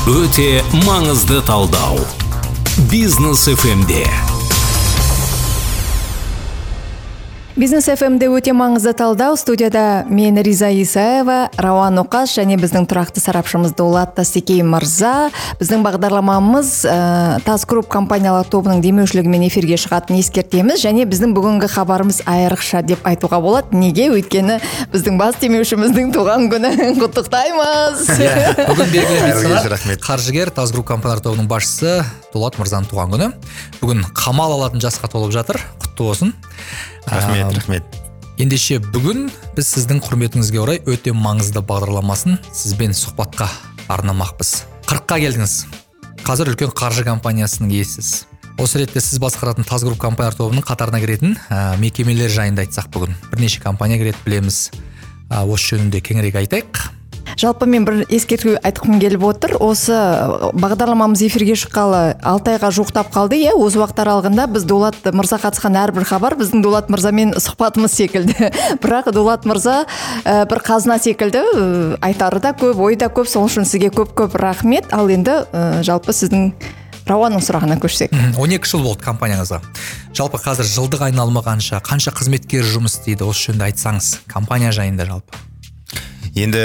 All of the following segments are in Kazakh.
Өте маңызды талдау. Бизнес FM-де. Бизнес FM-де өте маңызды талдау. Студияда мен Риза Исаева, Рауан Оқаш және біздің тұрақты сарапшымыз Дулат Тастекей мырза. Біздің бағдарламамыз Таз Групп компаниялар тобының демеушілігімен эфирге шығатынын ескертеміз, және біздің бүгінгі хабарымыз айрықша деп айтуға болады. Неге? Өйткені біздің бас демеушіміздің туған күнін құттықтаймыз. Бүгін белгілі қаржыгер Таз Групп компаниялар тобының басшысы Дулат мырзаның туған күні. Бүгін қамал алатын жасқа толып жатыр. Құтты болсын. Рахмет. Ендеше бүгін біз сіздің құрметіңізге орай өте маңызды бағдарламасын сізбен сұхбатқа арнамақпыз. 40-қа келдіңіз. Қазір үлкен қаржы компаниясының иесісіз. Осы ретте сіз басқаратын Таз Групп компаниялар тобының қатарына кіретін мекемелер жайында айтсақ бүгін. Бірнеше компания кіреді білеміз. Осы жөнінде кеңірек айтайық. Жалпы мен бір ескерту айтқым келіп отыр. Осы бағдарламамыз эфирге шыққалы 6 айға жуықтап қалды. Осы уақыт аралығында біз Дулат мырза қатысқан әрбір хабар біздің Дулат мырзамен сұхбатымыз секілді. Бірақ Дулат мырза бір қазына секілді, айтары да көп, ой да көп. Сол үшін сізге көп рахмет. Ал енді жалпы сіздің Рауанның сұрағына көшсек. 12 жыл болды компанияңызға. Жалпы қазір жылдық айналымы қанша қызметкер жұмыс істейді? Осы жөнінде айтсаңыз, компания жайында жалпы. Енді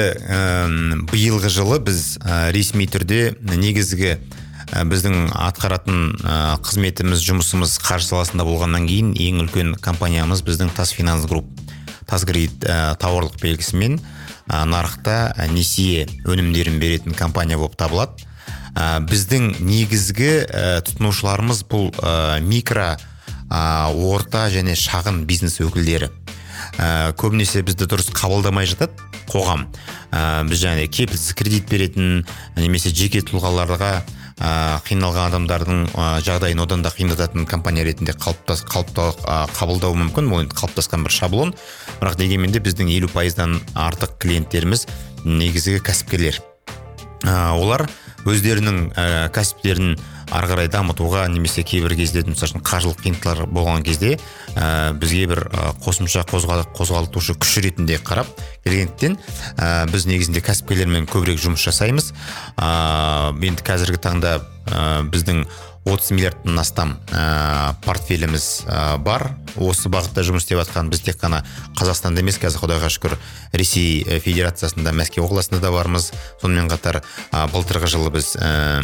биылғы жылы біз ресми түрде негізгі біздің атқаратын қызметіміз, жұмысымыз қаржы саласында болғаннан кейін ең үлкен компаниямыз біздің Таз Финанс Групп. Таз Кредит тауарлық белгісімен нарықта несие өнімдерін беретін компания болып табылады. Біздің негізгі тұтынушыларымыз бұл микро, орта және шағын бизнес өкілдері. Көбінесе бізді дұрыс қабылдамай жатады қоғам. Біз және кепілсіз кредит беретін, немесе жеке тұлғаларға қиналған адамдардың жағдайын одан да қиындататын компания ретінде қабылдау мүмкін. Бұл қалыптасқан бір шаблон. Бірақ дегенмен де біздің 50%-дан артық клиенттеріміз негізгі кәсіпкерлер. Олар өздерінің кәсіптерін ары қарай дамытуға, немесе кейбір кезде қаржылық қиындықтар болған кезде бізге бір қосымша қозғалтушы күш ретінде қарап келгендіктен біз негізінде кәсіпкерлермен көбірек жұмыс жасаймыз. Енді қазіргі таңда біздің 30 миллиардтан астам портфеліміз бар. Осы бағытта жұмыс істеп жатқан біз тек қана Қазақстанда емес, қазір Құдайға шүкір Ресей Федерациясында, Мәскеу қаласында да бармыз. Сонымен қатар былтырғы жылы біз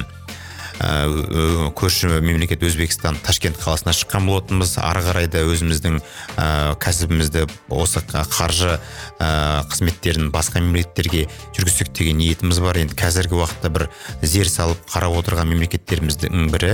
көрші мемлекет Өзбекстан Ташкент қаласына шыққан болатынбыз. Ары қарай да өзіміздің кәсібімізді осы қаржы қызметтерін басқа мемлекеттерге жүргізсек деген ниетіміз бар. Енді қазіргі уақытта бір зер салып қарап отырған мемлекеттеріміздің бірі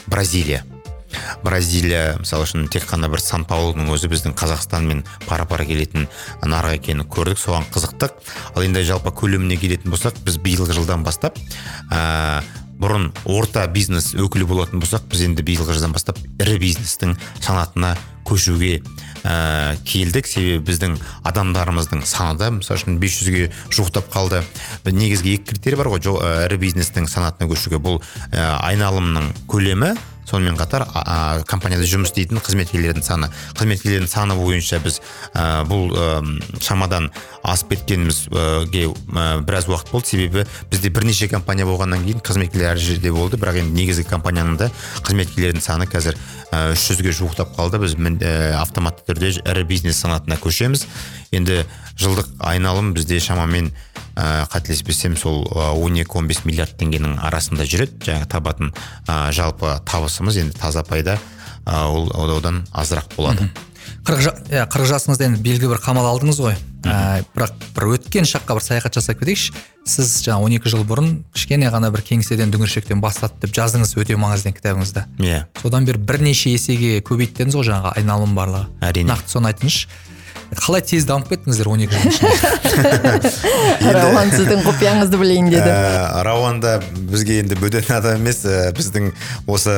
Бразилия, мысалы үшін тек қана бір Сан-Паулудың өзі біздің Қазақстанмен пара-пара келетін нарық екенін көрдік, соған қызықтық. Ал енді жалпы көлеміне келетін болсақ, біз биылғы жылдан бастап бұрын орта бизнес өкілі болатын болсақ, біз енді биылғы жылдан бастап ірі бизнестің санатына көшуге келдік. Себебі біздің адамдарымыздың саны да мысалы үшін 500-ге жуықтап қалды. Негізгі екі критерий бар ғой ірі бизнестің санатына көшуге. Бұл айналымның көлемі, сонымен қатар компанияда жұмыс істейтін қызметкерлердің саны. Қызметкерлердің саны бойынша біз бұл шамадан асып кеткенімізге біраз уақыт болды. Себебі бізде бірнеше компания болғаннан кейін қызметкерлер әр жерде болды. Бірақ енді негізгі компанияның да қызметкерлердің саны қазір 300-ге жуықтап қалды. Біз автоматты түрде ірі бизнес санатына көшеміз. Енді жылдық айналым бізде шамамен қателеспесем сол 12-15 миллиард теңгенің арасында жүреді. Жаңа табатын жалпы табысымыз енді таза пайда одан азырақ болады. 40 жасыңызда енді белгі бір қамал алдыңыз ғой. Бірақ бір өткен шаққа бір саяхат жасап кетейікші. Сіз жаңа 12 жыл бұрын кішкене ғана бір кеңседен дүңгіршектен бастады деп жаздыңыз өте маңызды кітабыңызда. Содан бері бірнеше есеге көбейттіңіз ғой жаңағы айналым барлығы. Нақты соны айтыңызшы. Қалай тез дамып кеттіңіздер 12 жыл ішінде? Рауан сіздің құпияңызды білейін деді. Рауанда бізге енді бөтен адам емес, біздің осы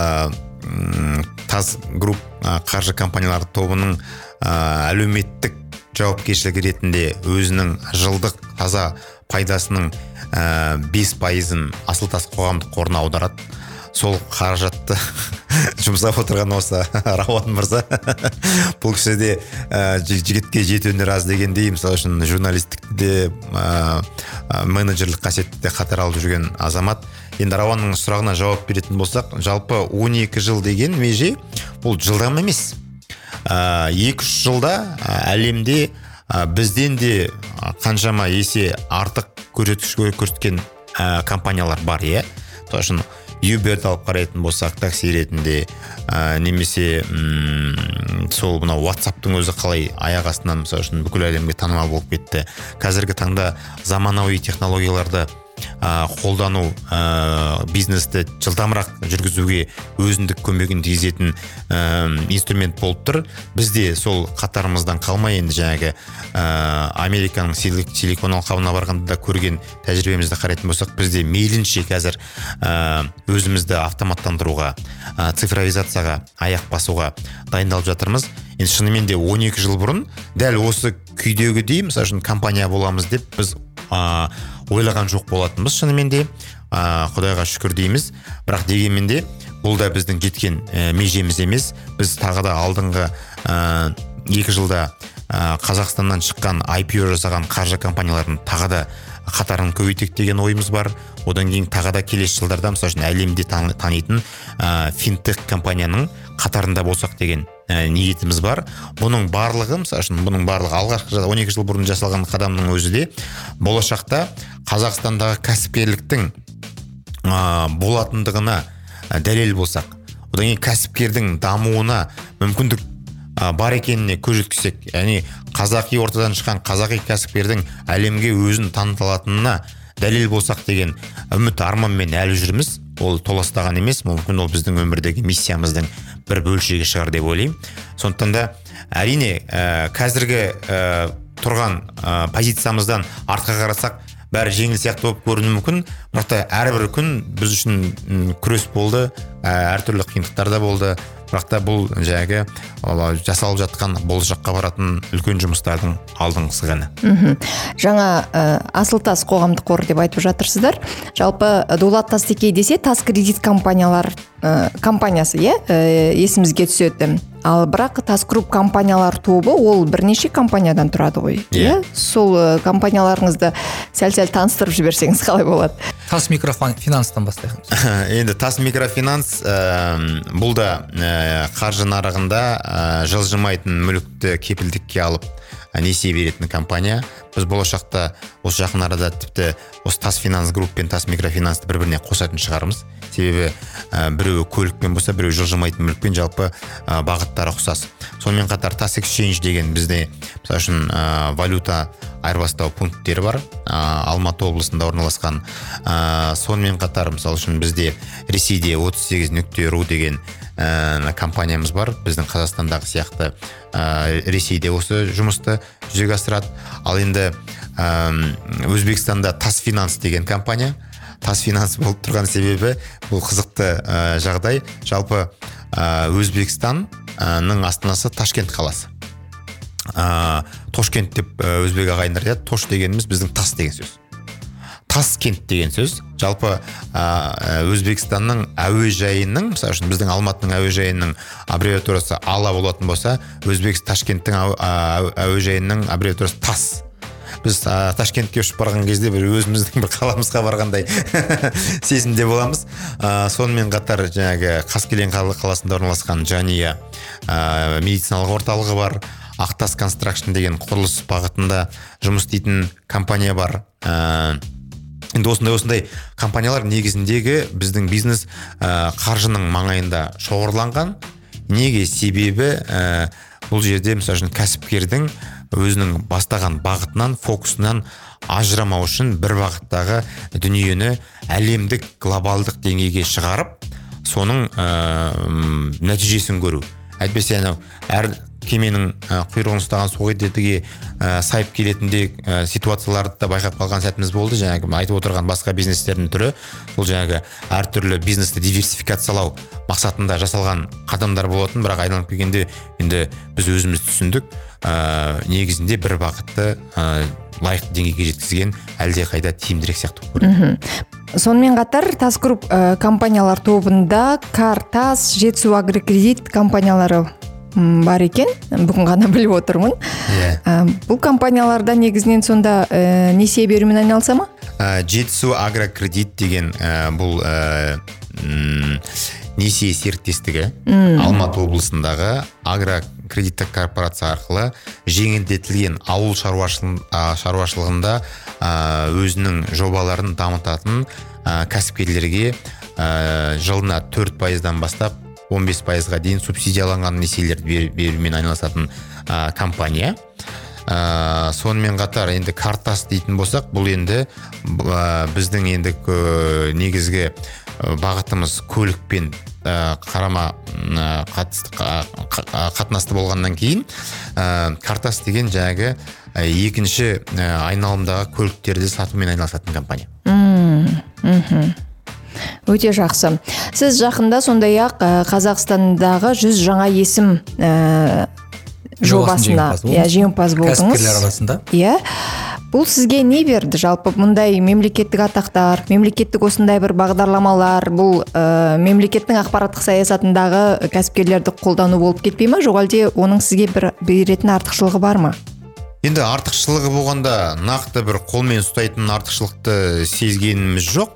Таз Групп қаржы компаниялар тобының әлеуметтік жауапкершілігі ретінде өзінің жылдық таза пайдасының 5%-ын Асыл-Тас қоғамдық қорына аударады. Сол қаражатты жұмсап отырған осы Рауан мырза. Бұл кісі де жігітке жеті өнер аз дегендей, мысалы үшін журналистікте менеджерлік қасиетті қатар алып жүрген азамат. Енді Рауанның сұрағына жауап беретін болсақ, жалпы 12 жыл деген меже бұл жылдам емес. 2-3 жылда әлемде бізден де қаншама есе артық көрсеткіш көрсеткен компаниялар бар, иә. Тосын Uber'ді алып қарайтын болсақ, такси ретінде, немесе сол мына WhatsApp'тың өзі қалай аяқ астынан мысалы үшін бүкіл әлемге танымал болып кетті. Қазіргі таңда заманауи технологияларды қолдану бизнесті жылдамырақ жүргізуге өзіндік көмегін тигізетін инструмент болып тұр. Бізде сол қатарымыздан қалмай, енді жаңағы Американың силикон алқабына барғанда көрген тәжірибемізді қарайтын болсақ, бізде мейлінше қазір өзімізді автоматтандыруға, цифровизацияға аяқ басуға дайындалып жатырмыз. Енді шынымен де 12 жыл бұрын дәл осы күйдегідей, мысалы үшін компания боламыз деп біз ойлаған жоқ болатынбыз. Шынымен де Құдайға шүкір дейміз. Бірақ дегенмен де бұл да біздің жеткен межеміз емес. Біз тағы да алдыңғы 2 жылда Қазақстаннан шыққан IPO жасаған қаржы компанияларын тағы да қатарын көбейтек деген ойымыз бар. Одан кейін тағы да келесі жылдарда мысалы үшін әлемде танитын финтех компанияның қатарында болсақ деген ниетіміз бар. Бұның барлығы, мысалы үшін бұның барлығы алғашқы 12 жыл бұрын жасалған қадамның өзі де болашақта Қазақстандағы кәсіпкерліктің болатындығына дәлел болсақ, одан кейін кәсіпкердің дамуына мүмкіндік бар екеніне көз жеткізсек, яғни қазақи ортадан шыққан қазақи кәсіпкердің әлемге өзін танытылатынына дәлел болсақ деген үміт арманмен әлі жүрміз. Ол толастаған емес, мүмкін ол біздің өмірдегі миссиямыздың бір бөлшегі шығар деп ойлаймын. Сондықтан да әрине қазіргі тұрған позициямыздан артқа қарасақ, бәрі жеңіл сияқты болып көрінуі мүмкін, бірақ та әрбір күн біз үшін күрес болды, әртүрлі қиындықтар да болды. Бірақ та бұл жаңағы жасалып жатқан болашаққа баратын үлкен жұмыстардың алдыңғысы ғана. Жаңа Асылтас қоғамдық қор деп айтып жатырсыздар. Жалпы Дулат Тастекей десе, Тас кредит компаниясы, есімізге түседі. Ал бірақ Тас Групп компаниялар тобы ол бірнеше компаниядан тұрады ғой. Сол компанияларыңызды сәл-сәл таныстырып жіберсеңіз қалай болады? Тас микрофинанстан бастайық. Енді Тас микрофинанс бұл да қаржы нарығында жылжымайтын мүлікті кепілдікке алып несие беретін компания. Біз болашақта осы жақын арада тіпті осы Тас Финанс Групп пен Тас микрофинансты бір-біріне қосатын шығармыз. Себебі біреуі көлікпен болса, біреуі жылжымайтын мүлікпен, жалпы бағыттары ұқсас. Сонымен қатар Тас Exchange деген бізде мысалы үшін валюта айырбастау пункттері бар, Алматы облысында орналасқан. Сонымен қатар мысалы үшін бізде Ресейде 38.ru деген компаниямыз бар. Біздің Қазақстандағы сияқты Ресейде осы жұмысты жүзеге асырады. Ал енді Өзбекстанда Тас Финанс деген компания. Тас Финанс болып тұрған себебі бұл қызықты жағдай. Жалпы Өзбекстанның астанасы Ташкент қаласы. Тошкент деп өзбек ағайындар айтады. Тош дегеніміз біздің тас деген сөз. Таскент деген сөз. Жалпы Өзбекстанның әуежайының, мысалы үшін біздің Алматының әуежайының аббревиатурасы ала болатын болса, Ташкенттің әуежайының аббревиатурасы тас. Біз Ташкентке ұшып барған кезде бір өзіміздің бір қаламызға барғандай сезімде боламыз. Сонымен қатар жаңағы Қаскелең қаласында орналасқан Жания медициналық орталығы бар. Ақтас Construction деген құрылыс бағытында жұмыс істейтін компания бар. Енді осындай компаниялар негізіндегі біздің бизнес қаржының маңайында шоғырланған. Неге? Себебі бұл жерде мысалы үшін кәсіпкердің өзінің бастаған бағытынан, фокусынан ажырамау үшін бір бағыттағы дүниені әлемдік, глобалдық деңгейге шығарып, соның нәтижесін көру. Әйтпесе әр кеменің құйрығын ұстаған суға сайып келетіндей ситуацияларды да байқап қалған сәтіміз болды. Жаңағы айтып отырған басқа бизнестердің түрі, бұл жаңағы әртүрлі бизнесті диверсификациялау мақсатында жасалған қадамдар болатын, бірақ айналып келгенде енді біз өзіміз түсіндік, негізінде бір бағытты лайықты деңгейге жеткізген әлде қайда тиімдірек сияқты көрінеді. Сонымен қатар Тас Групп компаниялар тобында Кар, Тас, Жетісу Агрокредит компаниялары бар екен, бүгін ғана біліп отырмын. Бұл компанияларда негізінен сонда несие берумен айналыса ма? Жетісу агрокредит деген бұл несие серіктестігі Алматы облысындағы агрокредиттік корпорация арқылы жеңілдетілген ауыл шаруашылығында өзінің жобаларын дамытатын кәсіпкерлерге жылына 4%-дан бастап 15%-ға дейін субсидияланған несиелерді берумен айналысатын компания. Сонымен қатар енді картас дейтін болсақ, бұл енді біздің енді негізгі бағытымыз көлікпен қарама қатынасты болғаннан кейін картас деген жаңағы екінші айналымдағы көліктерді сатумен айналысатын компания. Өте жақсы. Сіз жақында сондай-ақ Қазақстандағы 100 жаңа есім жобасына жеңімпаз болдыңыз. Кәсіпкерлер арасында. Бұл сізге не берді? Жалпы мұндай мемлекеттік атақтар, мемлекеттік осындай бір бағдарламалар, бұл мемлекеттің ақпараттық саясатындағы кәсіпкерлерді қолдану болып кетпей ме? Жоқ әлде оның сізге бір беретін артықшылығы бар ма? Енді артықшылығы болғанда нақты бір қолмен ұстайтын артықшылықты сезгеніміз жоқ.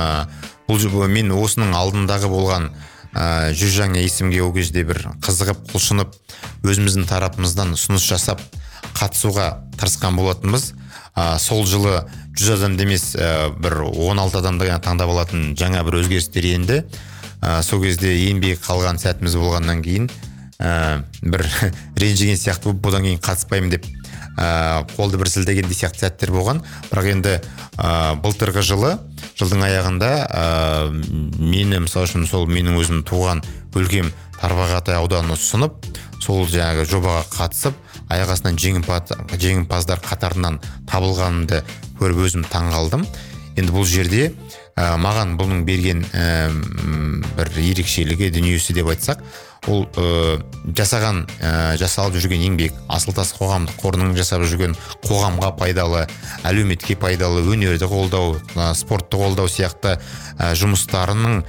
Мен осының алдындағы болған 100 жаңа есімге ол кезде бір қызығып, құлшынып, өзіміздің тарапымыздан ұсыныс жасап, қатысуға тырысқан болатынбыз. Сол жылы 100 адам емес, бір 16 адамды таңдап алатын жаңа бір өзгерістер енді. Сол кезде еңбек қалған сәтіміз болғаннан кейін бір ренжіген сияқты болып, бұдан кейін қатыспаймын деп қолды бір сілтеген сияқты сәттер болған. Бірақ енді былтырғы жылдың аяғында мені мысалы үшін сол менің өзім туған өлкем Тарбағатай ауданына ұсынып, сол жаңағы жобаға қатысып, аяқ астынан жеңімпаздар қатарынан табылғанымды көріп өзім таңғалдым. Енді бұл жерде маған бұның берген бір ерекшелігі, дүниесі деп айтсақ, ол жасалып жүрген еңбек, Асылтас қоғамдық қорының жасап жүрген қоғамға пайдалы, әлеуметке пайдалы, өнерді қолдау, спортты қолдау сияқты жұмыстарының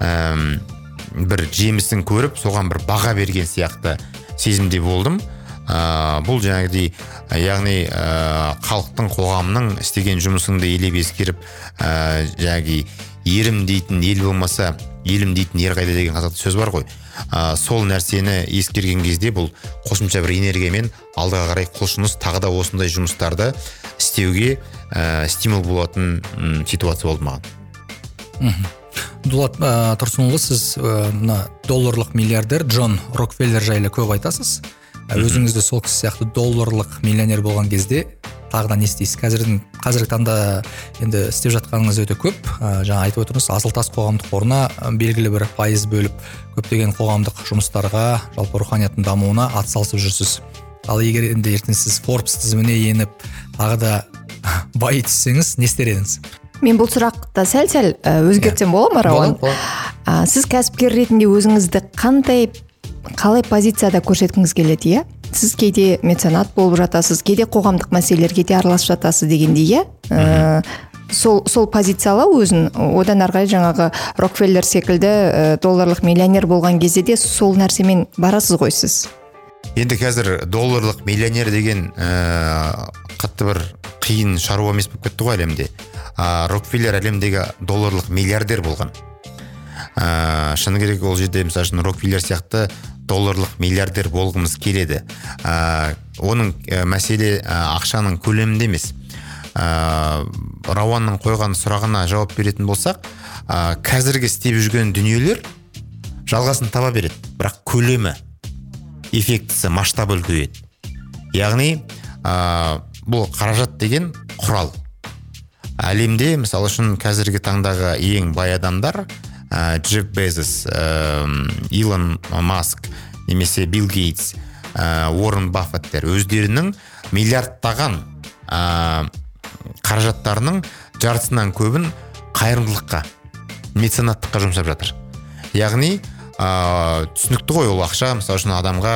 бір жемісін көріп, соған бір баға берген сияқты сезімде болдым. Бұл жаңағыдай, яғни халықтың, қоғамның істеген жұмысыңды елеп ескеріп, жаңағы ерім дейтін ел болмаса, елім дейтін ер қайда деген қазақта сөз бар ғой. Сол нәрсені ескерген кезде бұл қосымша бір энергиямен алдыға қарай құлшыныс, тағы да осындай жұмыстарды істеуге стимул болатын ситуация болды маған. Дулат Тұрсынұлы, сіз долларлық миллиардер Джон Рокфеллер жайлы көп айтасыз. Өзіңізді сол кісі сияқты долларлық миллионер болған кезде тағы да не істейсіз? Қазіргі таңда енді істеп жатқаныңыз өте көп. Жаңа айтып отырмыз, Асылтас қоғамдық қорына белгілі бір пайыз бөліп, көптеген қоғамдық жұмыстарға, жалпы руханияттың дамуына атсалысып жүрсіз. Ал егер енді ертең сіз Forbes тізіміне еніп, тағы да бай түссеңіз, не істер едіңіз? Мен бұл сұрақты сәл өзгертсем бола ма, Рауан? Сіз кәсіпкер ретінде өзіңізді қалай позицияда көрсеткіңіз келеді, Сіз кейде меценат болып жатасыз, кейде қоғамдық мәселелерге де араласып жатасыз дегендей, сол позициялау өзін, одан арғай жаңағы Рокфеллер секілді долларлық миллионер болған кезде де сол нәрсемен барасыз ғой сіз. Енді қазір долларлық миллионер деген қатты бір қиын шаруа емес болып кетті ғой әлемде. Рокфеллер әлемдегі долларлық миллиардер болған. Шыны керек ол жерде мысалы үшін Рокфеллер сияқты долларлық миллиардер болғымыз келеді. Оның мәселе ақшаның көлемінде емес. Рауанның қойған сұрағына жауап беретін болсақ, қазіргі істеп жүрген дүниелер жалғасын таба береді, бірақ көлемі, эффектісі, масштабы үлкейеді. Яғни бұл қаражат деген құрал. Әлемде мысалы үшін қазіргі таңдағы ең бай адамдар Джефф Безос, Илон Маск, немесе Билл Гейтс, Уоррен Баффеттер өздерінің миллиардтаған қаражаттарының жартысынан көбін қайырымдылыққа, меценаттыққа жұмсап жатыр. Яғни түсінікті ғой ол ақша, мысалы үшін адамға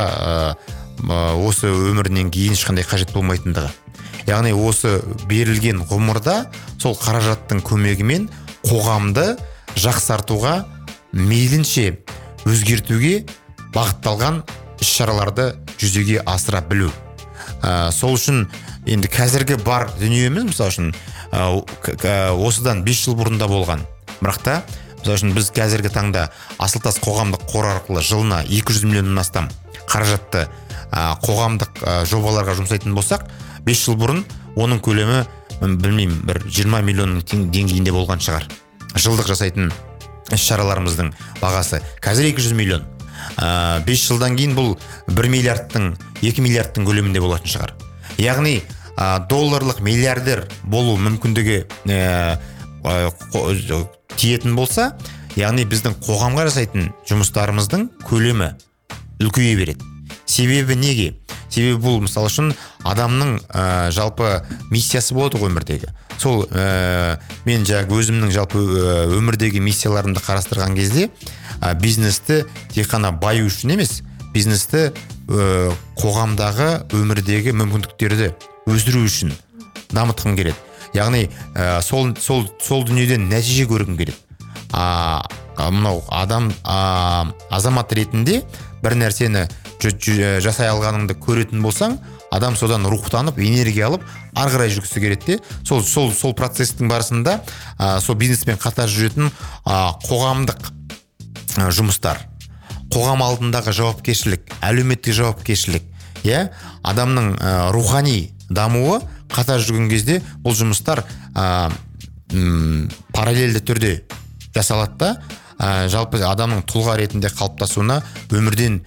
осы өмірінен кейін ешқандай қажет болмайтындығы. Яғни осы берілген ғұмырда сол қаражаттың көмегімен қоғамды жақсартуға, мейлінше өзгертуге бағытталған іс-шараларды жүзеге асыра білу. Сол үшін енді қазіргі бар дүниеміз, мысалы үшін осыдан 5 жыл бұрында болған. Бірақ та, мысалы үшін біз қазіргі таңда Асылтас қоғамдық қор арқылы жылына 200 миллионнан астам қаражатты қоғамдық жобаларға жұмсайтын болсақ, 5 жыл бұрын оның көлемі, білмеймін, бір 20 миллионның деңгейінде болған шығар. Жылдық жасайтын іс-шараларымыздың бағасы. Қазір 200 миллион. 5 жылдан кейін бұл 1 миллиардтың, 2 миллиардтың көлемінде болатын шығар. Яғни долларлық миллиардер болу мүмкіндігі тиетін болса, яғни біздің қоғамға жасайтын жұмыстарымыздың көлемі үлкейе береді. Себебі неге? Себебі бұл, мысалы үшін, адамның жалпы миссиясы болады ғой өмірдегі. Сол мен өзімнің жалпы өмірдегі миссияларымды қарастырған кезде, бизнесті тек қана баю үшін емес, бизнесті қоғамдағы өмірдегі мүмкіндіктерді өсіру үшін дамытқым келеді. Яғни сол дүниеден нәтиже көргім келеді. Мынау азамат ретінде бір нәрсені жасай алғаныңды көретін болсаң, адам содан рухтанып, энергия алып, ары қарай жүргісі келеді. Сол процестің барысында сол бизнеспен қатар жүретін қоғамдық жұмыстар, қоғам алдындағы жауапкершілік, әлеуметтік жауапкершілік, адамның рухани дамуы қатар жүрген кезде бұл жұмыстар параллельді түрде жасалады да, жалпы адамның тұлға ретінде қалыптасуына, өмірден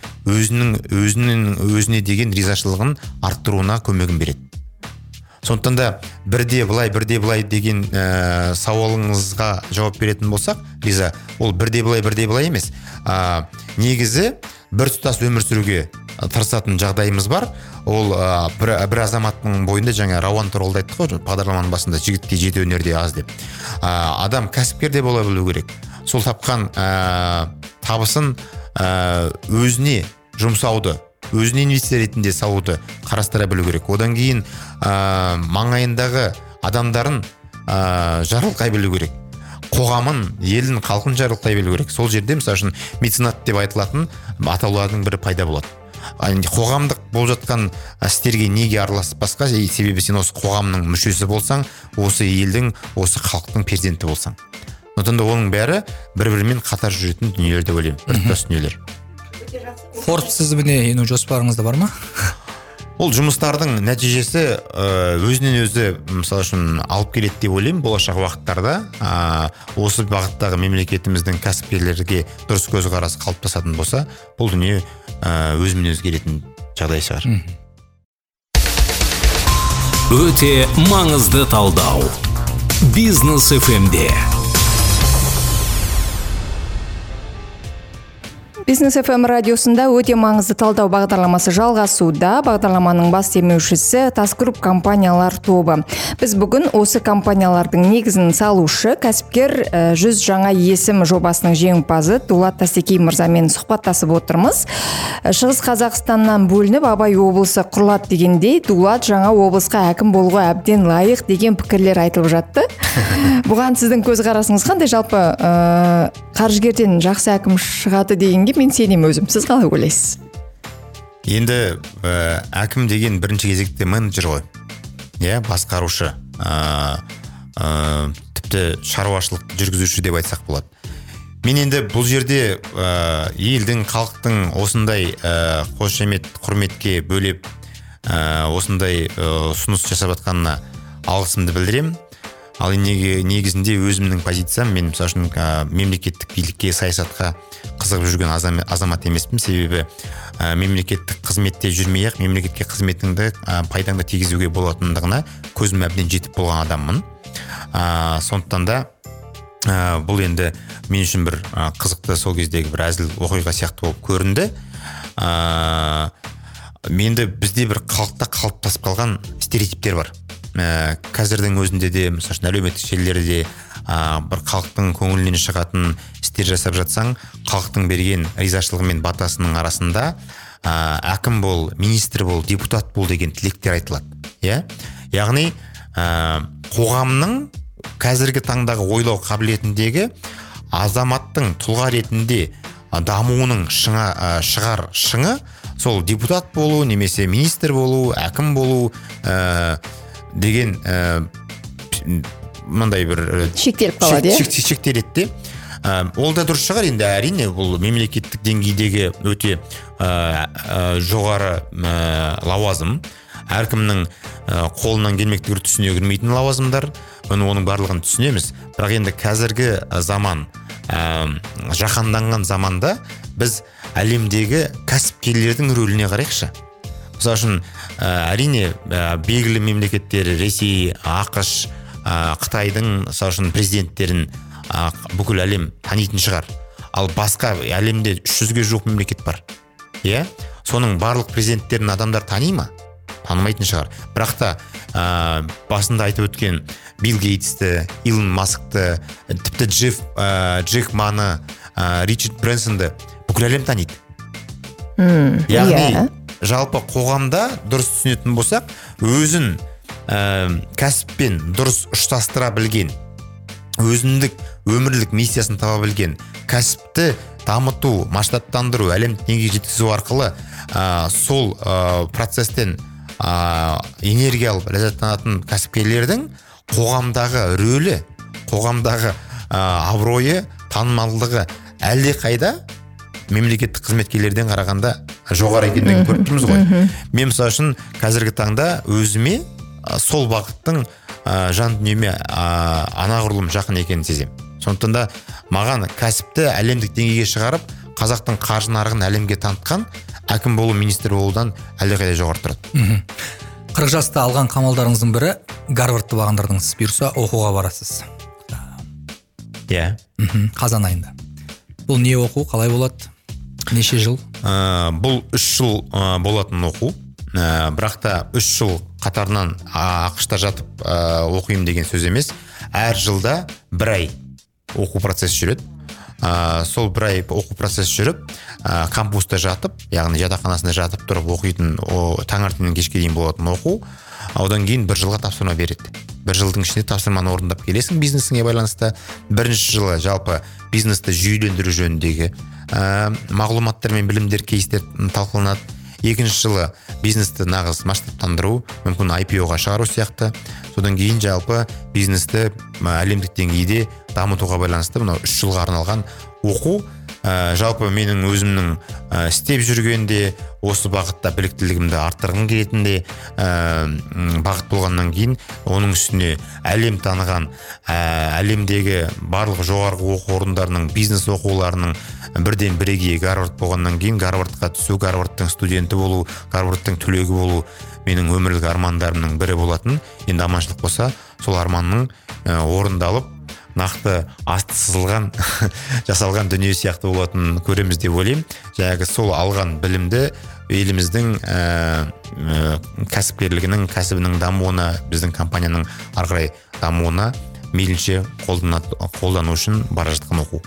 өзіне деген ризашылығын арттыруына көмегін береді. Сондықтан да бірде былай деген сауалыңызға жауап беретін болсақ, Риза, ол бірде былай емес. Негізі бір тұтас өмір сүруге тырысатын жағдайымыз бар. Ол бір азаматтың бойында, жаңа Рауан туралы айттық қой, бағдарламаның басында, жігітке жеті өнерде аз деп. Адам кәсіпкер де бола білу керек. Сол тапқан табысын өзіне жұмсауды, өзіне инвестиция ретінде салуды қарастыра білу керек. Одан кейін маңайындағы адамдарын жарылқай білу керек. Қоғамын, елін, халқын жарылқай білу керек. Сол жерде, мысалы үшін, меценат деп айтылатын атаулардың бірі пайда болады. Қоғамдық болып жатқан істерге неге араласпасқа, себебі сен осы қоғамның мүшесі болсаң, осы елдің, осы халықтың перзенті болсаң. Сондықтан оның бәрі бір-бірімен қатар жүретін дүниелер деп ойлаймын, біртұтас дүниелер. Forbes тізіміне ену жоспарыңызда бар ма? Ол жұмыстардың нәтижесі өзінен өзі, мысалы үшін, алып келеді деп ойлаймын болашақ уақыттарда. Осы бағыттағы мемлекетіміздің кәсіпкерлерге дұрыс көзқарас қалыптасатын болса, бұл дүние өзімен өзгеретін жағдай шығар. Өте маңызды талдау. Бизнес FM-де. Бизнес FM радиосында өте маңызды талдау бағдарламасы жалғасуда. Бағдарламаның бас демеушісі Тасгрупп компаниялар тобы. Біз бүгін осы компаниялардың негізін салушы, кәсіпкер 100 жаңа есім жобасының жеңімпазы Дулат Тастекей мырзамен сұхбаттасып отырмыз. Шығыс Қазақстаннан бөлініп Абай облысы құрылады дегендей, Дулат жаңа облысқа әкім болуға әбден лайық деген пікірлер айтылып жатты. Бұған сіздің көзқарасыңыз қандай? Жалпы қаржыгерден жақсы әкім шығады дегенге мен сенем өзім. Сіз қалай ойлайсыз? Енді әкім деген бірінші кезекте менеджер ғой. Басқарушы. Тіпті шаруашылық жүргізуші деп айтсақ болады. Мен енді бұл жерде елдің, халықтың осындай қошемет, құрметке бөлеп осындай ұсыныс жасап жатқанына алғысымды білдіремін. Ал негізінде өзімнің позициям, мен мысалы үшін мемлекеттік билікке, саясатқа қызығып жүрген азамат емеспін. Себебі мемлекеттік қызметте жүрмей-ақ мемлекетке қызметіңді пайдаңды тигізуге болатындығына көзім әбден жетіп болған адаммын. Сондықтан да бұл енді мен үшін бір қызықты, сол кездегі бір әзіл оқиға сияқты болып көрінді. Менде бізде бір халықта қалыптасып қалған стереотиптер бар. Қазірдің өзінде де, мысалы үшін, әлеуметтік желілерде бір халықтың көңілінен шығатын істер жасап жатсаң, халықтың берген ризашылығы мен батасының арасында әкім бол, министр бол, депутат бол деген тілектер айтылады. Яғни қоғамның қазіргі таңдағы ойлау қабілетіндегі азаматтың тұлға ретінде дамуының шығар шыңы сол депутат болу немесе министр болу, әкім болу деген мындай бір шектеліп қалады, шектеледі. Ол да дұрыс шығар, енді әрине бұл мемлекеттік деңгейдегі өте жоғары лауазым, әркімнің қолынан келмектігір түсіне кірмейтін лауазымдар, оның барлығын түсінеміз. Бірақ енді қазіргі заман, жаһанданған заманда біз әлемдегі кәсіпкерлердің рөліне қарайықшы. Мысалы үшін әрине белгілі мемлекеттер, Ресей, ақш, Қытайдың мысалы үшін президенттерін бүкіл әлем танитын шығар. Ал басқа әлемде 300-ге жуық мемлекет бар. Иә? Соның барлық президенттерін адамдар тани ма? Танымайтын шығар. Бірақ та басында айтып өткен Билл Гейтсті, Илон Маскты, тіпті Джек Маны, Ричард Брэнсонды бүкіл әлем таниды. Яғни жалпы қоғамда дұрыс түсінетін болсақ, өзін кәсіппен дұрыс ұштастыра білген, өзіндік өмірлік миссиясын таба білген, кәсіпті дамыту, масштабтандыру, әлемдік деңгейге жеткізу арқылы сол процестен энергия алып ләззаттанатын кәсіпкерлердің қоғамдағы рөлі, қоғамдағы абыройы, танымалдығы әлде қайда мемлекеттік қызметкерлерден қарағанда жоғары екендігін көріп тұрмыз ғой. Мен мысалы үшін қазіргі таңда өзіме сол бағыттың жан дүниеме анағұрлым жақын екенін сеземін. Сондықтан да маған кәсіпті әлемдік деңгейге шығарып, қазақтың қаржы нарығын әлемге танытқан әкім болу, министр болудан әлдеқайда жоғары тұрады. 40 жаста алған қамалдарыңыздың бірі Гарвардты бағындырдыңыз. Бұйырса оқуға барасыз. Иә. Қазан айында. Бұл не оқу, қалай болады? Неше жыл? Бұл 3 жыл болатын оқу. Бірақ та 3 жыл қатарынан ақшта жатып оқимын деген сөз емес. Әр жылда 1 ай оқу процесі жүреді. Сол 1 ай оқу процесі жүріп, кампуста жатып, яғни жатақханасында жатып тұрып оқитын, таңертеңнен кешке дейін болатын оқу. Одан кейін 1 жылға тапсырма береді. 1 жылдың ішінде тапсырманы орындап келесің бизнесіңе байланысты. Бірінші жылы жалпы бизнесті жүйелендіру жөніндегі мағлұматтар мен білімдер, кейстер талқыланады. Екінші жылы бизнесті нағыз масштабтандыру, мүмкін IPO-ға шығару сияқты. Содан кейін жалпы бизнесті әлемдік деңгейде дамытуға байланысты мынау 3 жылға арналған оқу. Жалпы менің өзімнің істеп жүргенде, осы бағытта біліктілігімді арттырғым келетінде бағыт болғаннан кейін, оның үстіне әлем таныған, әлемдегі барлық жоғарғы оқу орындарының бизнес оқуларының бірден бірегейі Гарвард болғаннан кейін, Гарвардқа түсу, Гарвардтың студенті болу, Гарвардтың түлегі болу менің өмірлік армандарымның бірі болатын. Енді аманшылық болса, сол арманның орындалып, нақты асты сызылған жасалған дүние сияқты болатын көреміз деп ойлаймын. Жаңағы сол алған білімді еліміздің кәсіпкерлігінің, кәсібінің дамуына, біздің компанияның ары қарай дамуына мейлінше қолдану үшін бара жатқан оқу.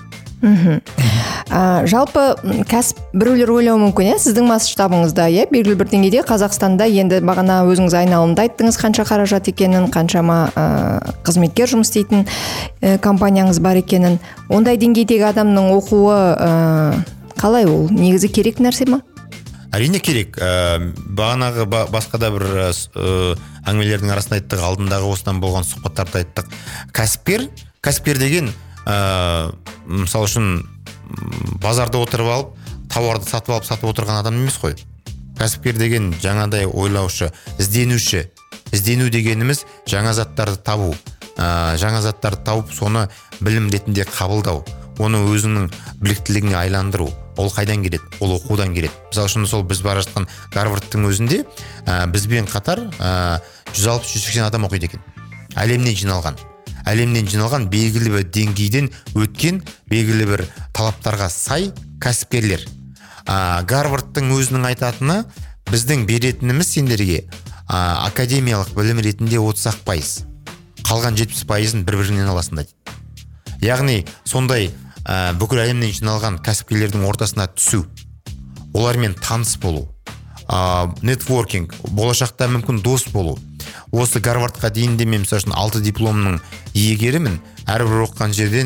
Жалпы кәсіп біреулер ойлауы мүмкін, сіздің масштабыңызда, белгілі бір деңгейде Қазақстанда енді бағана өзіңіз айналымда айттыңыз қанша қаражат екенін, қаншама қызметкер жұмыс істейтін компанияңыз бар екенін. Ондай деңгейдегі адамның оқуы қалай, ол негізі керек нәрсе ма? Әрине керек. Бағанағы басқа да бір әңгімелердің арасында айттық, алдындағы осыдан болған сұхбаттарда айттық. Кәсіпкер деген мысалы үшін базарда отырып алып, тауарды сатып отырған адам емес қой. Кәсіпкер деген жаңадай ойлаушы, ізденуші. Іздену дегеніміз жаңа заттарды табу. Жаңа заттарды тауып, соны білім ретінде қабылдау. Оны өзінің біліктілігіне айландыру. Ол қайдан келеді? Ол оқудан келеді. Мысалы үшін сол біз бара жатқан Гарвардтың өзінде бізбен қатар 160-180 адам оқиды екен. Әлемнен жиналған белгілі бір деңгейден өткен белгілі бір талаптарға сай кәсіпкерлер. Гарвардтың өзінің айтатыны, біздің беретініміз сендерге академиялық білім ретінде 30%, қалған 70%-ын бір-бірінен аласың дейді. Яғни сондай бүкіл әлемнен жиналған кәсіпкерлердің ортасына түсу, олармен таныс болу, нетворкинг, болашақта мүмкін дос болу. Осы Гарвардқа дейінде мен мысалы үшін 6 дипломның иегерімін. Әрбір оқыған жерден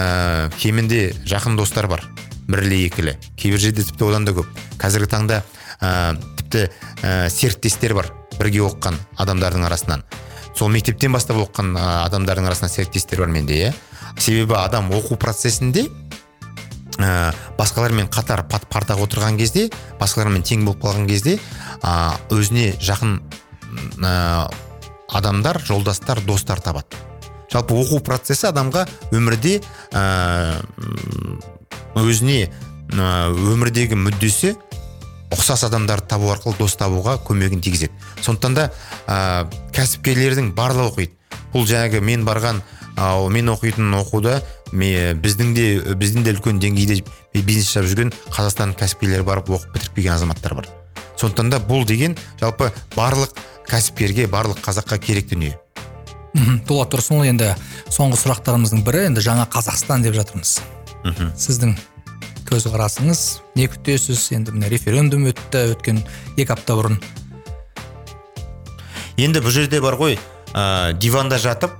кемінде жақын достар бар. Бірлі екілі. Кейбір жерде тіпті одан да көп. Қазіргі таңда тіпті серіктестер бар, бірге оқыған адамдардың арасынан. Сол мектептен бастап оқыған адамдардың арасынан серіктестер бар менде, иә. Себебі адам оқу процесінде басқалармен қатар партаға отырған кезде, басқалармен тең болып қалған кезде, өзіне жақын адамдар, жолдастар, достар табады. Жалпы оқу процесі адамға өмірде өзіне өмірдегі мүддесі ұқсас адамдарды табу арқылы дос табуға көмегін тигізеді. Сондықтан да кәсіпкерлердің барлығы оқиды. Бұл жаңағы мен барған, мен оқитын оқуда біздің де үлкен деңгейде бизнес жасап жүрген Қазақстан кәсіпкерлері барып оқып бітіріп келген азаматтар бар. Сондықтан да бұл деген жалпы барлық кәсіпкерге, барлық қазаққа керек дүние. Дулат Тұрсынұлы, енді соңғы сұрақтарымыздың бірі, енді жаңа Қазақстан деп жатырмыз. Сіздің көзқарасыңыз, не күтесіз? Енді міне референдум өткен 2 апта бұрын. Енді бұл жерде бар ғой, диванда жатып,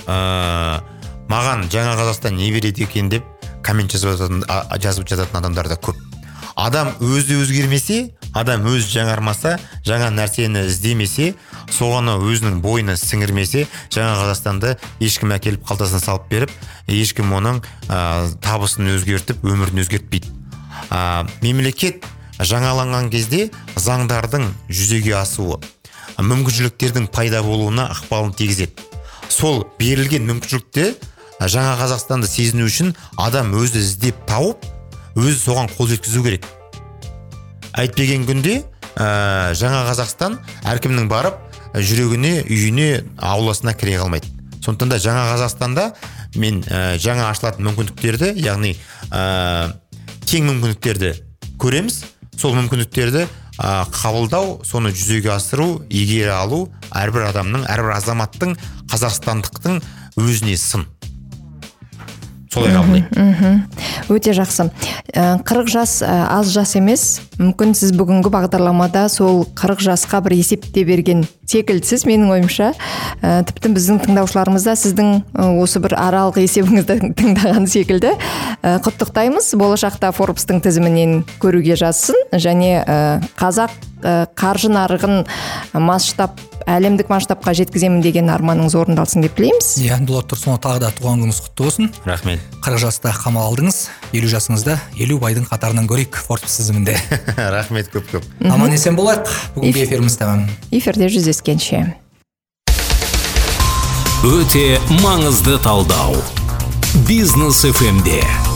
маған жаңа Қазақстан не береді екен деп коммент жазып жататын адамдар да көп. Адам өзі өзгермесе, адам өзі жаңармаса, жаңа нәрсені іздемесе, соғаны өзінің бойына сіңірмесе, жаңа Қазақстанды ешкім әкеліп қалтасына салып беріп, ешкім оның табысын өзгертіп, өмірін өзгертпейді. Мемлекет жаңаланған кезде заңдардың жүзеге асуы, мүмкіншіліктердің пайда болуына ықпалын тигізеді. Сол берілген мүмкіншілікте жаңа Қазақстанды сезіну үшін адам өзі іздеп тауып, өзі соған қол жеткізу керек. Әйтпеген күнде жаңа Қазақстан әркімнің барып жүрегіне, үйіне, ауласына кіре қалмайды. Сондықтан да жаңа Қазақстанда мен жаңа ашылатын мүмкіндіктерді, яғни тең мүмкіндіктерді көреміз. Сол мүмкіндіктерді қабылдау, соны жүзеге асыру, игере алу әрбір адамның, әрбір азаматтың, қазақстандықтың өзіне сын. Солай қабылдаймын. Өте жақсы. 40 жас аз жас емес. Мүмкін сіз бүгінгі бағдарламада сол 40 жасқа бір есепте берген секілдісіз, менің ойымша. Тіпті біздің тыңдаушыларымыз да сіздің осы бір аралық есебіңізді тыңдаған секілді. Құттықтаймыз. Болашақта Forbes-тың тізімінен көруге жазсын, және қазақ қаржы нарығын әлемдік масштабқа жеткіземін деген арманыңыз орындалсын деп тілейміз. Дулат Тұрсынұлы, тағы да туған күніңіз құтты болсын. Рахмет. 40 жаста қамал алдыңыз, 50 жасыңызда 50 байдың қатарынан көрейік Forbes тізімінде. Рахмет көп. Аман есен болайық. Бүгінгі эфиріміз тәмам. Эфирде жүздескенше. Өте маңызды талдау. Бизнес FM-де.